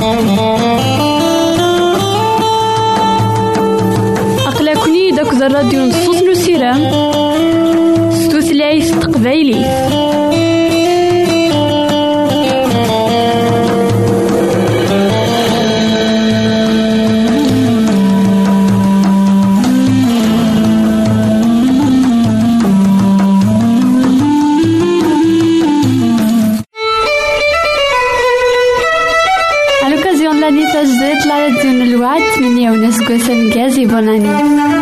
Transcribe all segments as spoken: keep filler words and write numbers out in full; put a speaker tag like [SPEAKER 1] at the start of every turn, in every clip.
[SPEAKER 1] أقلكني داك الراديو نصوص نسيرام ستوثلايف تقبايلي.
[SPEAKER 2] تجديد لا يدين الوعد من يونس قسم جازي بوناني.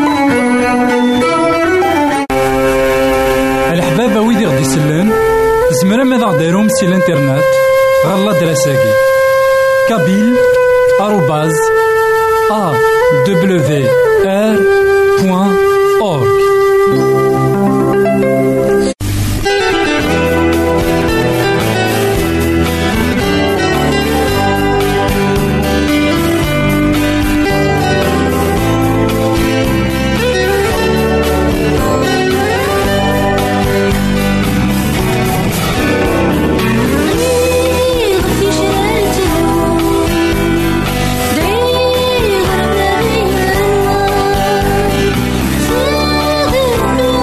[SPEAKER 3] الحبابة ويدي غدي يسلن زمرا ماذا غديرهم سي الانترنت غالا دراساكي كابيل آروباز أ دبليو آر بوان أورك.
[SPEAKER 4] Thank you.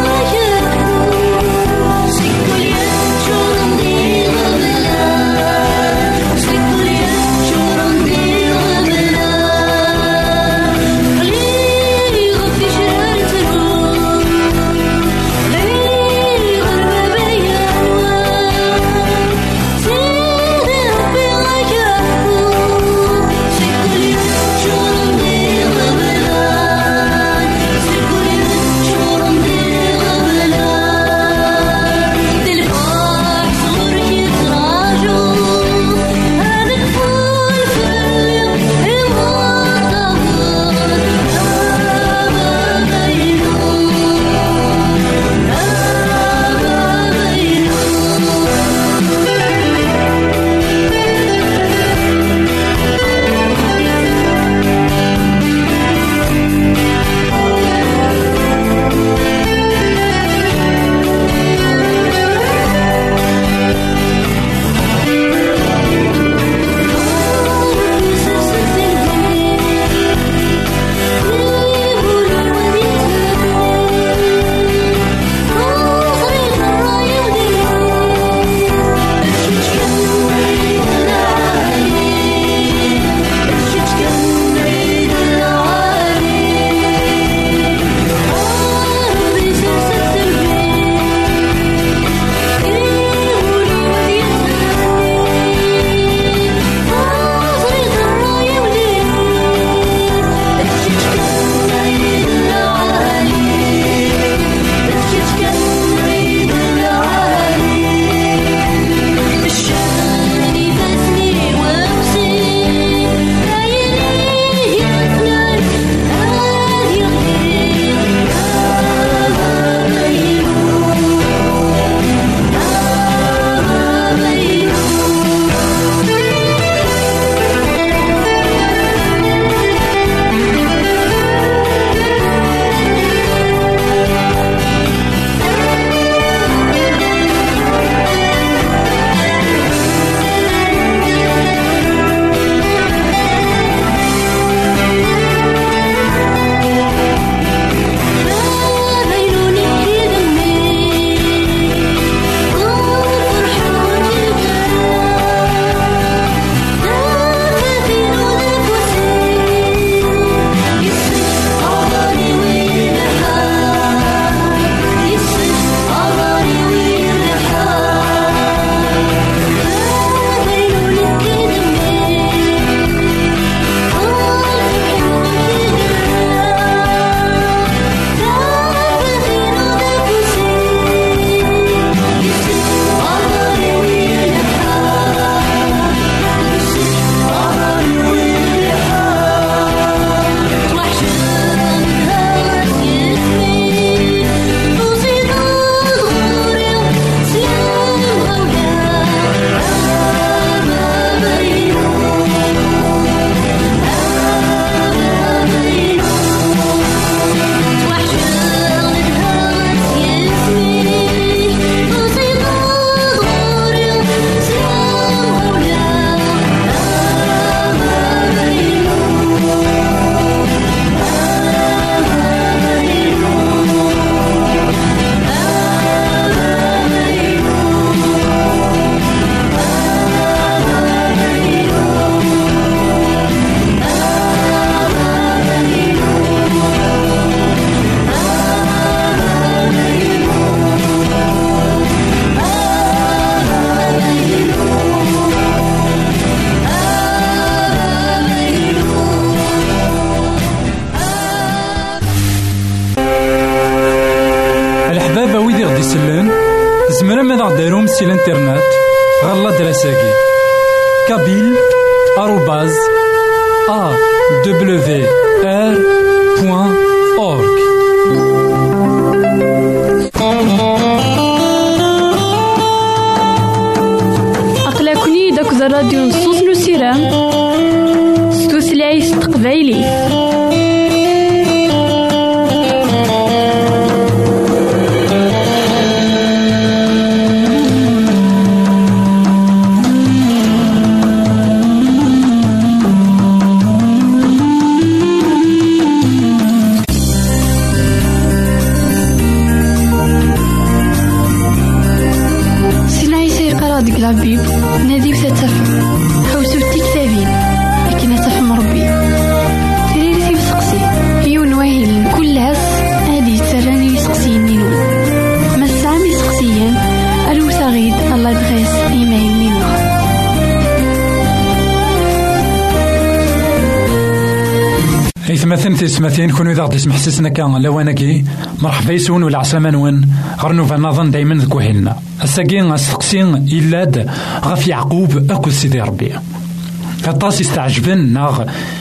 [SPEAKER 3] ماذا دايروم سي الانترنت غالا دراساكي كابيل آروباز أ دبليو آر بوان أورك.
[SPEAKER 1] أقلكني داك الراديو نصوص نسيرام ستوثلايف تقبايلي.
[SPEAKER 2] لابيب نادي وتتفهم حوسو التكتابين لكن تفهم ربي تريري بسقسي يون واهل كل هس هادي تسراني يسقسي نينون ما سامي سقسيا الو ثغيد الله يدغيس ايمايل نينو.
[SPEAKER 3] إثمثن تسمثين كونوا إذا غدي سمح سيسنا كان لواناكي مرحبا يسون ولا عسلامة نون غرنوفا نظن دايما ذكوهلنا الساقين السقسين إلاد غف يعقوب أكو سيدي ربي كطاس يستعجبن ناغ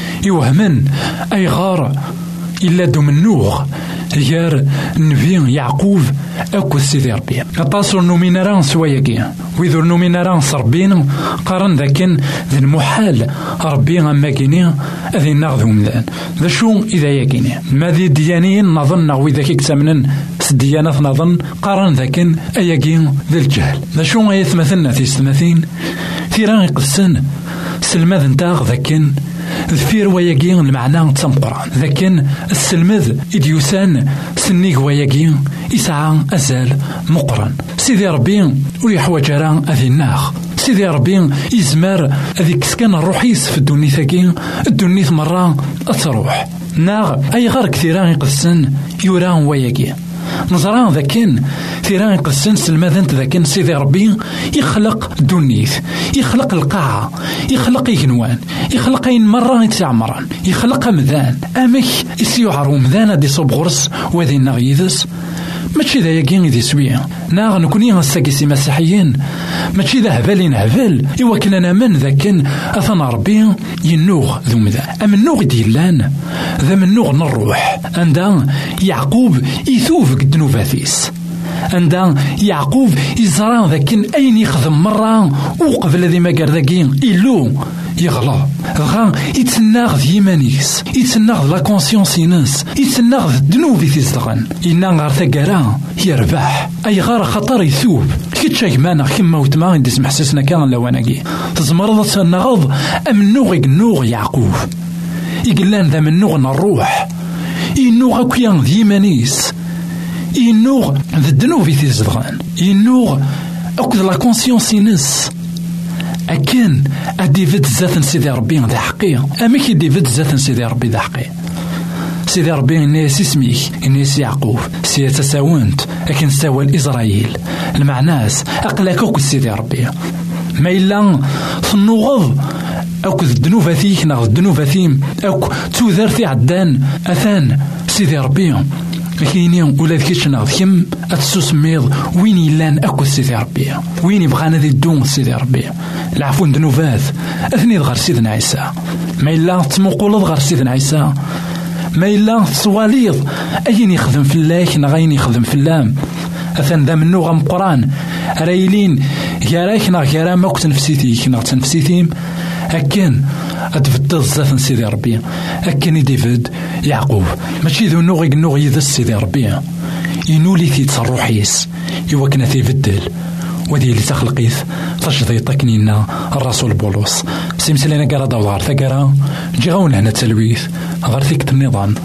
[SPEAKER 3] يوهمن أي غار إلاد منوغ غير نبي يعقوب أكو سيدي ربي كطاس نوميناران سواياكي ويذو نوميناران صربين قارن ذاكن ذي المحال ربي أما كيني أذي ناغذهم ذان ذا شو إذا يكيني ما ذي ديانين نظن وإذا كيك تمنن سديانات نظن قارن ذاكن أياكين ذي الجهل ذا شو يثمثلنا في ستماثين ثيران يقصن سلماذ نتاغ ذاكن ذفير وياكين المعنى تسمقران ذاكن السلمذ إديوسان سنيك وياكين إسعى أزال مقرن سيدي ربي ويحوج راه أذي الناغ سيدي ربي يزمر هذيك سكان الروحيس في الدنيا ثاكين الدنيا مرة أتروح ناغ أي غير كثيران يقصن يوران وياكين نظران ذاكن ثيران يقصن سلماذنت ذاكن سيدي ربي يخلق دنيث يخلق القاعة يخلق يجنوان يخلق أين مرة يتعمران يخلق مذان أمك يسيوعرو مذان دي صوب غرس وذي نغيذس ماشي ذا ياكين ذي سويا ناغ نكوني غنساكيسي مسيحيين ماشي ذا هبالين هبال إوا كنا نامن ذاكن أثنى ربي ينوغ ذو مذا أم النوغ ديلان ذا من نوغ نروح عندها يعقوب يثوف قد نوفاثيس عندها يعقوب يزران ذاكن أين يخدم مرة وقبل ذي ما قال ذاكين إلو يغلا غا يتناغ ذي يمانيس يتناغ لا كونسيونس ينس يتناغ الذنوب في زغن إنا غار ثقرا يربح أي غار خطر يثوب كتشاك مانا كما وتما عندي سمح سسنا كان لواناكي تزمرض تنغض أم نوغ نوغ يعقوب يقلان ذا من نوغ نروح ينوغ كيان ذي يمانيس ينوغ ذا الذنوب في زغن ينوغ أكد لا كونسيونس ينس أكن أديفيد زات سيدي ربي ذا حقيقة أما كي ديفيد زات سيدي ربي ذا حقيقة سيدي ربي إنيس اسميك إنيس يعقوب سي تساونت أكن ساوى إسرائيل المعناس أقلاك أكو سيدي ربي ما إلا فنوغض أكو الدنوفة فيك ناغ الدنوفة ثيم أكو توذرتي عدان أثان سيدي ربي كاينين ولا ذكيتش ناغ كم أتسوسميض وين يلان أكو سيدي ربي وين يبغانا ذي الدون سيدي ربي العفو ذنوبات أثني غير سيدنا عيسى ما إلا تمقولض غير سيدنا عيسى ما إلا تصواليض أين يخدم في الله نغين يخدم في اللام أثن ذا منو غم قران رايلين ياراك ناغ يارا ما كنت نفسيتي ناغ تنفسيتيم أكن أتفضل زات سيدي ربي أكن ديفيد يعقوب ماشي ذو نوغي نوغي يذس سيدي ربي ينولي في تصرحيس يوكنا في بدل وذي اللي تخلقيث تشضي طكنينا الرسول بولس سيمسلينا قرا دوار ثقرا جيغون هنا تلويث غير ثيك النظام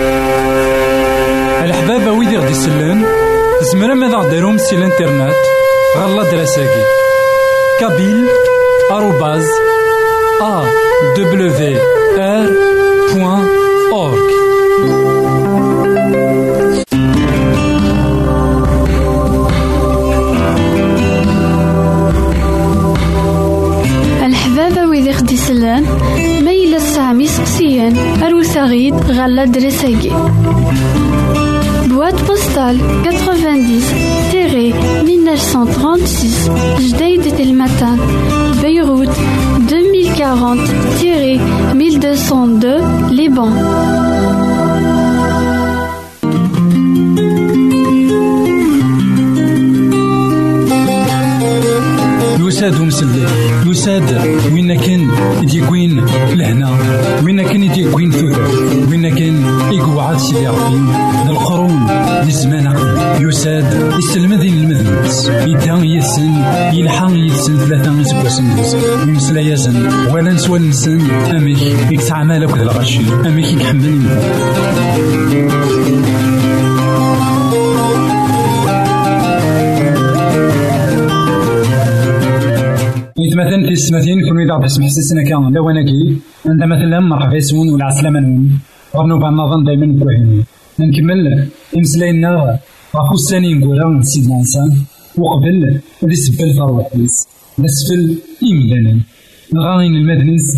[SPEAKER 3] الحباب ويدي غدي يسلن زمرا ماذا داروم سي الانترنت غالا دراساكي كابيل آروباز أ دبليو آر بوان أورك.
[SPEAKER 2] الحبابة ويدي خدي سلان ميلا السامي سقسيان أروساغيد غالا دراساكي Boîte postale quatre-vingt-dix mille neuf cent trente-six Jdeïd Telmatan, Beyrouth deux mille quarante mille deux cent deux Liban.
[SPEAKER 3] يساد ومسلي يساد وين كان يديكوين لهنا وين كان يديكوين ثوثر وين كان يقعد سيدي ربي القرون للزمان يساد يسلم ذي المذنبس يدان يسن يلحق يسن ثلاثة يسبوسن يمسلا يزن ولا نسوى نسن أميك يكسع مالك ذا الغشي أميك يحمل مثلا في السماتين كانوا يدعوا باسم حساسنا كان لو انا كي عند مثلا مرحبا يسون ولا عسلامة نون غنو بعد نظن دائما نكوهين نكمل امسلاينا غافو الثاني نقول سيدنا انسان وقبل ذي سبل فروحيس نسفل إمدانا نغاين المدنس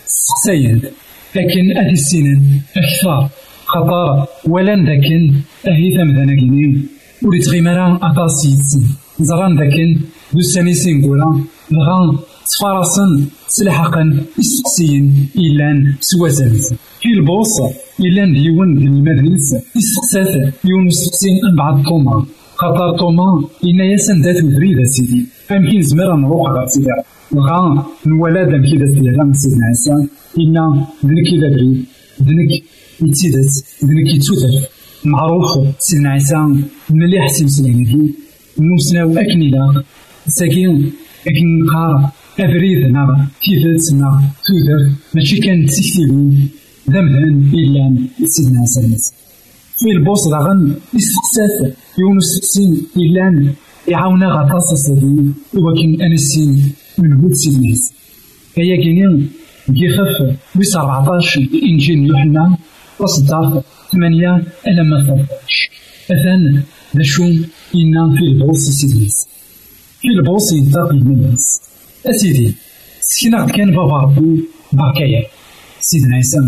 [SPEAKER 3] سقسايد لكن أهي السنين أكثر خطر ولن ذاكن أهي ثمذانا كنين وريت غيمارا أطاسيت زران ذاكن دو السانيسين قولا نغان تفارسن سلحقا يسقسين إلان سوازنز في البوصة إلان ديون ديال المدنس يسقسات يون يسقسين أن بعد طوما خطر طوما إنا ياسن ذات فريدة سيدي أمكن زمرا نروح غير سيدي نغان نولاد أمكي ذات ديالها سيدنا عيسى إنا ذنك إذا بريد ذنك يتسيدت ذنك يتسوتر معروف سيدنا عيسى مليح سيمسلينه نوسناو أكنيلا ساكين أكن نقار أبريدنا كيفتنا تودر ماشي كان تسيكتيبين ذنبا إلا سيدنا عيسى في البوص داغن يسقسات يونو سقسين إلا يعاونا غطاس الصديق ولكن أنا السين من بود سيدنا عيسى هيا كينين كيخف ويس أربعطاش إنجيل يوحنا وصدار ثمانية ألا ما ثلاثطاش أثان ذا شوم إنا في البوص سيدنا عيسى في البوص ينتقي من الناس أسيدي سكينا كان بابا ربي بركايا سيدنا عيسى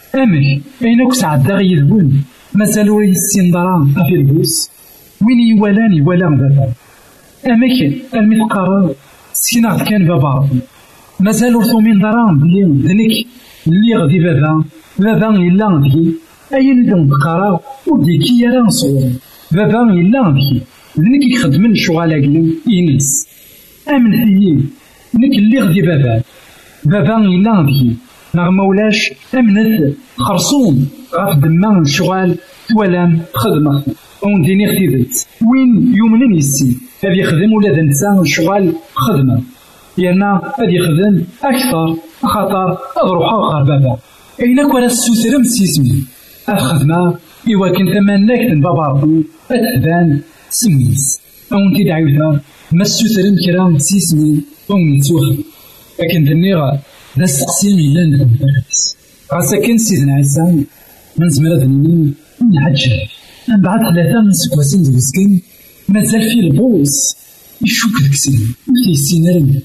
[SPEAKER 3] أمك أينك سعد داغي يذبون مازالوا يسين درام في البوص وين يوالان يوالان بابا أمك المثقار سكينا كان بابا ربي مازالوا ثومين درام بلي ذنك اللي غدي بابا بابا إلا غدي أين دون تقرا ودي كي يرى صور بابا إلا غدي ذنك يخدمن شغالاكي ينس أمن فيه نك اللي غدي بابا بابا إلا غدي نغ مولاش أمنت خرصوم غاف دمان الشغال توالام خدمة اون ديني اختيدت وين يومنن يسي هذا يخدم ولا ذا نسان الشغال خدمة يانا هذا يخدم أكثر خطر أضروحا غار بابا أينك ولا السوسرم سيسمي الخدمة إوا كنت تمناك بابا ربي أتبان سميس اون تدعيوها ما السوسرم كرام سيسمي اون نتوخ لكن دنيغا ذا السقسيم إلا ندم بركس غاسا كان سيدنا عيسى من زمرة ذنين نعجل من بعد ثلاثة من سكواسين دو مسكين مازال في البوص يشوك الكسين وفي السينارم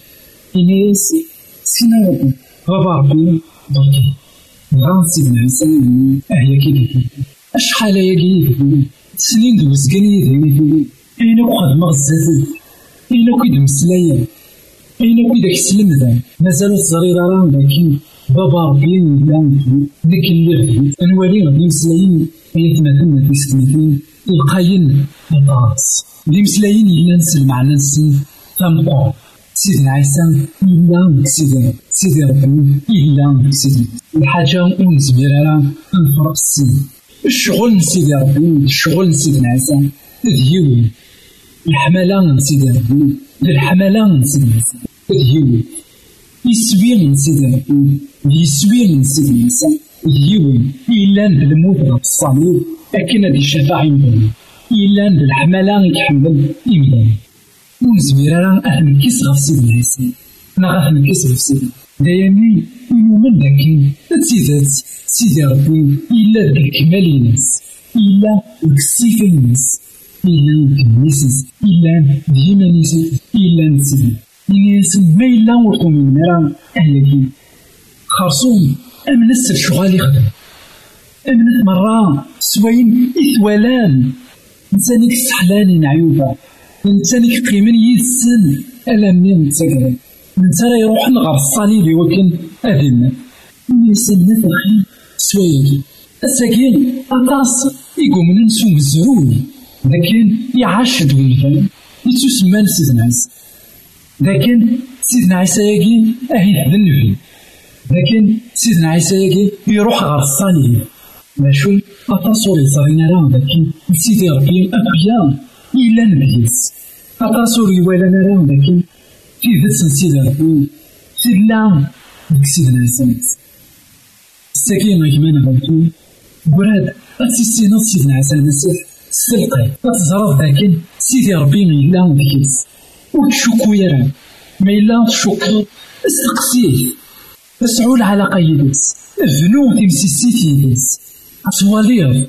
[SPEAKER 3] إنيس سينارم بابا ربي بركي غان سيدنا عيسى أهيا كيف أشحال ياكي سنين دو مسكين يدهي أينك قد مغزازل أينك يد مسلايا أينك يدك سلم ذا مازالو صغيرة راه لكن بابا ربي يلان ذيك اللي غدي أنوالي غدي مسلايين يتمثلنا في ستمثين القاين الراس دي مسلايين إلا نسلم على نسن تنقع سيدنا عيسى إلا سيدنا سيدي ربي إلا سيدنا الحاجة ونزميرها نفرق السن الشغل سيدي ربي الشغل سيدنا عيسى ذيوي الحملة سيدي ربي الحملة سيدنا عيسى ذيوي يسوي من سيدنا ربي يسوي من سيدنا عيسى ذيوي إلا بالموت غف الصليب أكن هادي الشفاعة يمدن إلا بالحملة يتحمل يمدن ونزميرها أهل نكيس غف سيدنا عيسى أنا غف نكيس غف سيدنا دايمي يومن داكين تسيدات سيدي ربي إلا ذاك الكمال ينس إلا ذاك السيف ينس إلا ذاك النسيس إلا ديما نسيس إلا نسيس ينس ما إلا ورطو من مرا أهلكي خرصوم أمنس الشغال يخدم أمنت مرة سوين إثوالان إنسانك سحلاني نعيوبة، إنسانك قيمن يسن ألا منين تسكر، إنسان يروح نغر الصليب وكن أذن يسن نفخي سويري الساكين أطاس يقوم ننسو مزرون، لكن يعاشد ولفان يتسمى سيدنا عيسى، لكن سيدنا عيسى يجي أهيد النبي، لكن سيدنا عيسى يجي يروح غير الصليب ماشو أتصور يصارينا راه، لكن سيدي ربي أبيان إلا نبيس أتصور يوالانا راه، لكن في ذات سيدي ربي سيدنا ديك سيدنا عيسى الساكين غيكمان غلطو براد أتسيسينا سيدنا عيسى المسيح السلقي أتزرف، لكن سيدي ربي إلا نبيس وتشوكو يرى ما إلا تشوكو استقسيه تسعول على قيدس الذنوب تمسيسيتي يدس أصوالير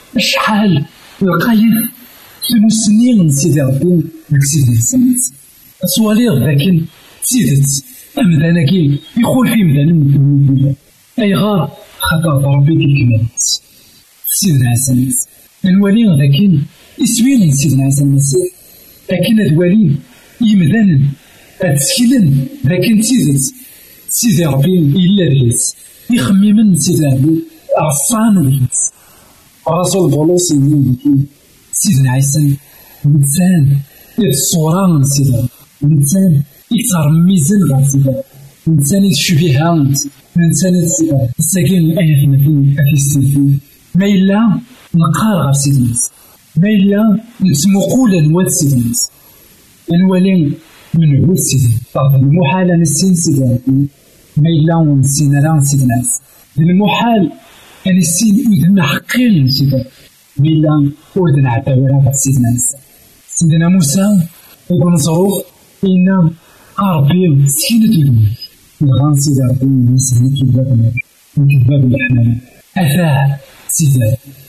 [SPEAKER 3] شحال القايد سنو سنين سيدي ربي ديك سيدنا عيسى أصوالير، لكن سيدت أمدانكي يقول في مدان أي غار خطر ربي الكمالات سيدنا عيسى الولي، لكن يسوين سيدنا عيسى المسيح، لكن الولي يمدان أتسكيلن، لكن سيدت سيدي ربي إلا بيس يخممن سيدي ربي عصان بيس. رسول بولس يقول سيدنا عيسى إنسان الصورة من سيدي ربي، إنسان يكثر ميزان غير سيدي ربي، إنسان يتشبه أنت، إنسان الساكن آية مثل أكيستيفي ما إلا نقار غير سيدنا عيسى، ما إلا نسمو قولا نواد سيدنا عيسى الولي من هو سيدي المحال أن السين سيدي ربي ما إلا ونسين راه سيدنا عيسى، المحال أن السين أذن حقين سيدي ما إلا أذن عتاورا سيدنا عيسى. سيدنا موسى يقول نصروخ إن ربي سكينة الملك الغان سيدي ربي يسهل كذاب كذاب الأحلام أثاه سيدي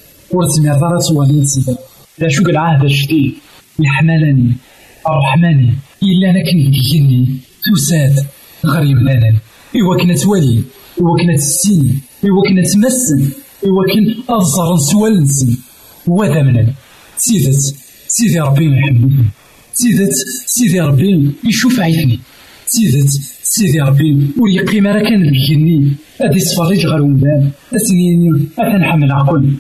[SPEAKER 3] ورسمي ضرس وليد سيدي لا شوك العهد الجديد يحملني الرحمن إلا أنا كنت بجني تساد غريب لنا إوا كنا توالي إوا كنا تسين إوا كنا تمسن إوا كن أفزر نسوال نسن وذا منن سيدت سيدي ربي يحبني، سيدت سيدي ربي يشوف عيني، سيدت سيدي ربي ويقيم راه كان بجني أدي صفريج غير ومدان أسنيني أتنحمل عقل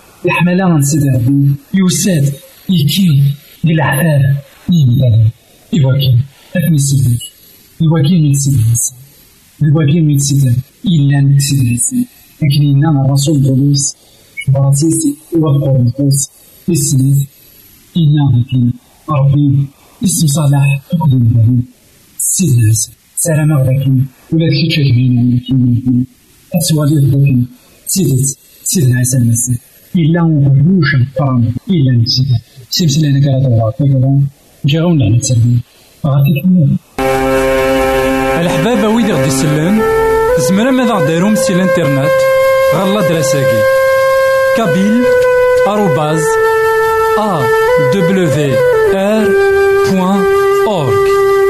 [SPEAKER 3] يحملها سيدي ربي يوساد يكي للعذاب يمدان إواكين أثني سيدي إواكين يتسيد الناس إواكين يتسيد إلا نكسيد الناس، لكن إنما الرسول بوليس براسيسي وذكر القوس اسمه إنا لكن ربي اسم صلاح أقدم به سيدنا عيسى سلام عليكم ولا تكي تجمعين لكن أسوالي لكن سيدت سيدنا عيسى المسيح إلا وغلوش الطعام إلا نكسيد سيمسي لنا كرات الله فكرا جاغون لنا تسلمين غاتي كمين
[SPEAKER 4] الحبابة ويدي غدي سلم زمرا ماذا غديرهم سي الانترنت غالا دراساكي كابيل آروباز أ دبليو آر بوان أورك.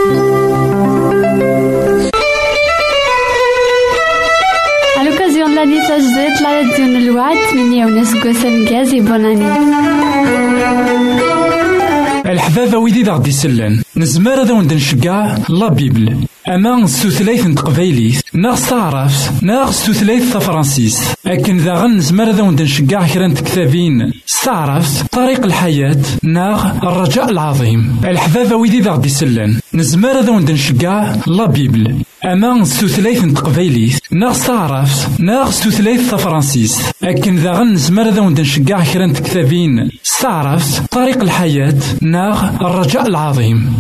[SPEAKER 2] À l'occasion de l'année Tajdet, la radio de l'Ouad, Mini Onesgo Sengazi, bonne année.
[SPEAKER 4] الحبابة ويدي دا غدي سلان نزمار هذا وند نشقع لا بيبل أما ستوثلايث نتقبايليث ناغ ستعرف ناغ ستوثلايث تفرانسيس أكن ذا غن نزمار هذا وند نشقع كران كتابين ستعرف طريق الحياة ناغ الرجاء العظيم. الحبابة ويدي دا غدي سلان نزمار هذا وند نشقع لا بيبل أما ستوثلايث نتقبايليث ناغ ستعرف ناغ ستوثلايث تفرانسيس أكن ذا غن نزمار هذا وند نشقع كران كتابين ستعرف طريق الحياة ناغ الرجاء العظيم.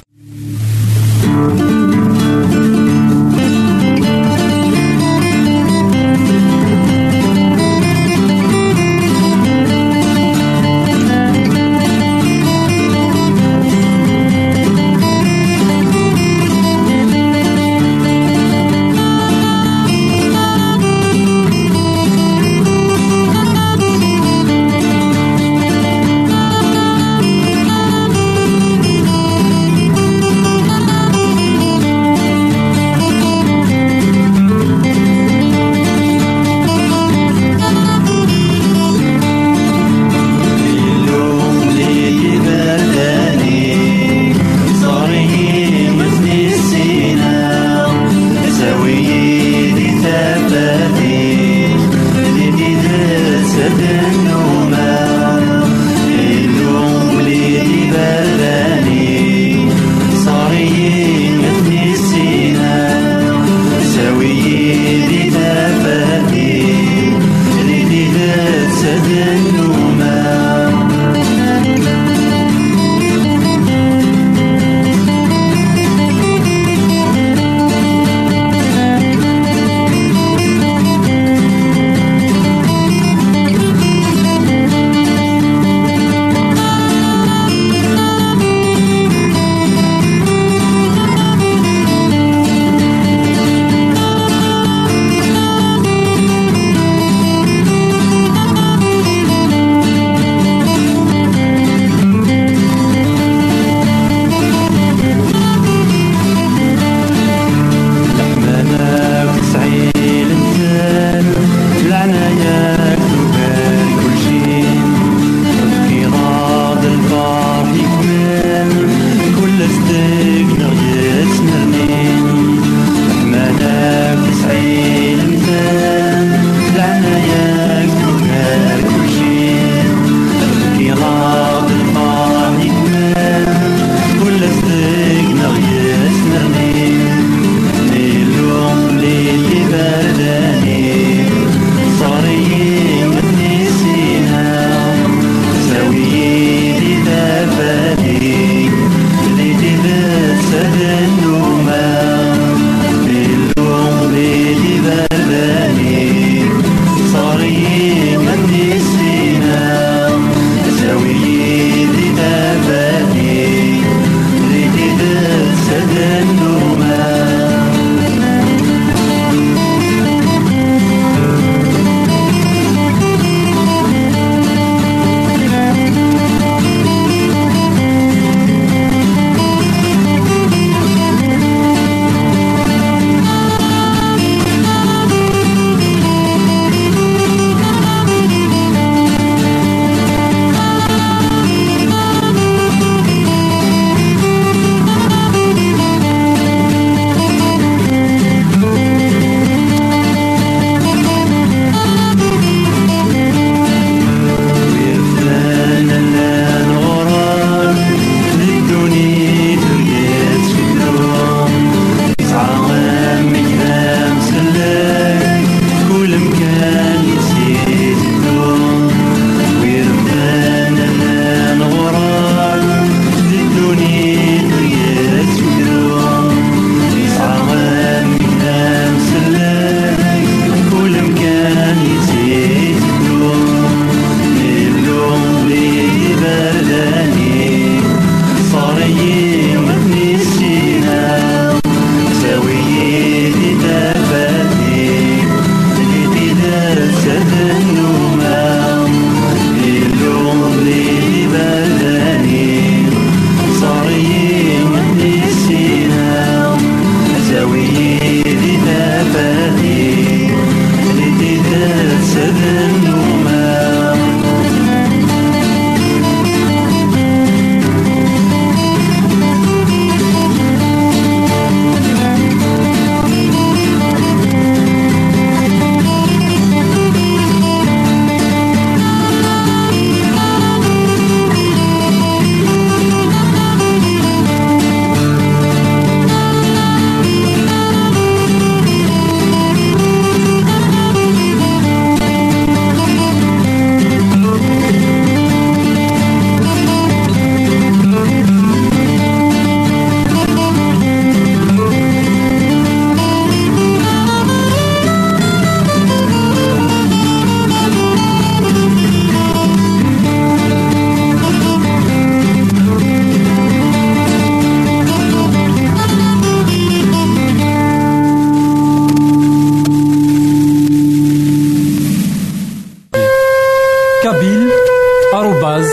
[SPEAKER 4] kabyle arobase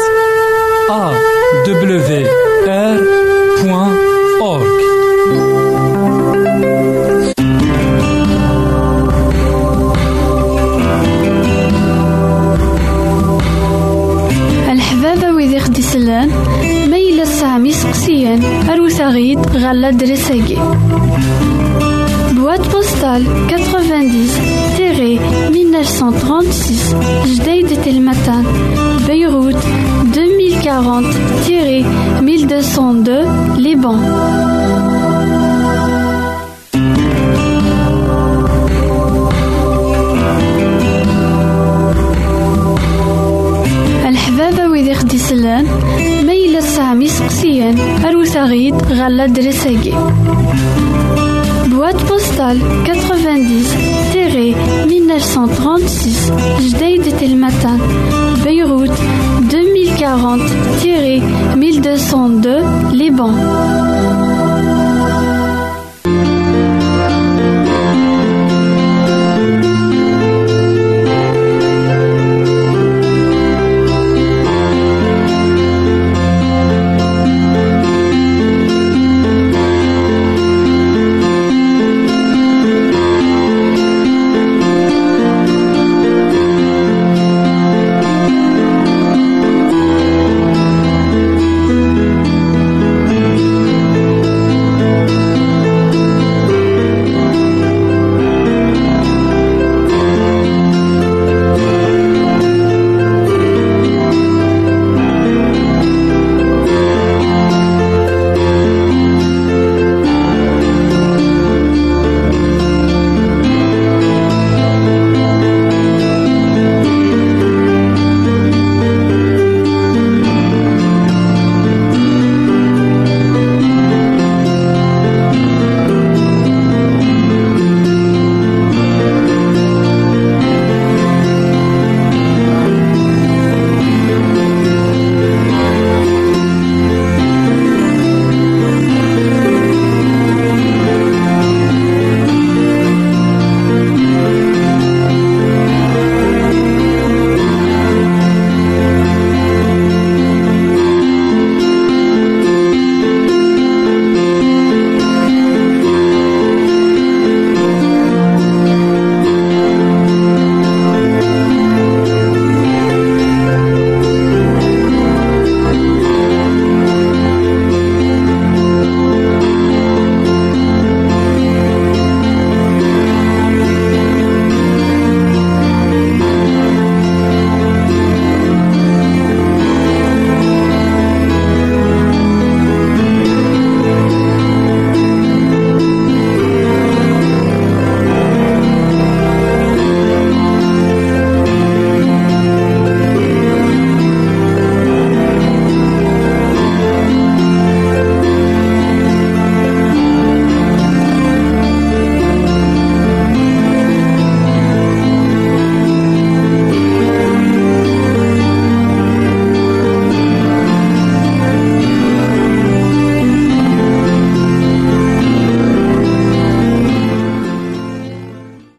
[SPEAKER 4] a w r point org.
[SPEAKER 2] الحبابة ويدي خدي سلان ميلا سامي سقسيان أروثاغيد غالا درساقي boîte postale quatre-vingt-dix mille neuf cent trente-six Jdeï de Telmatan, Beyrouth deux mille quarante mille deux cent deux, Liban. الحبابة ويدي خدي سلان ميلا سامي سقسيان أروثا غيد غالا درساقي boîte postale quatre-vingt-dix mille neuf cent trente-six Jdeïd Telmatan, Beyrouth deux mille quarante mille deux cent deux, Liban.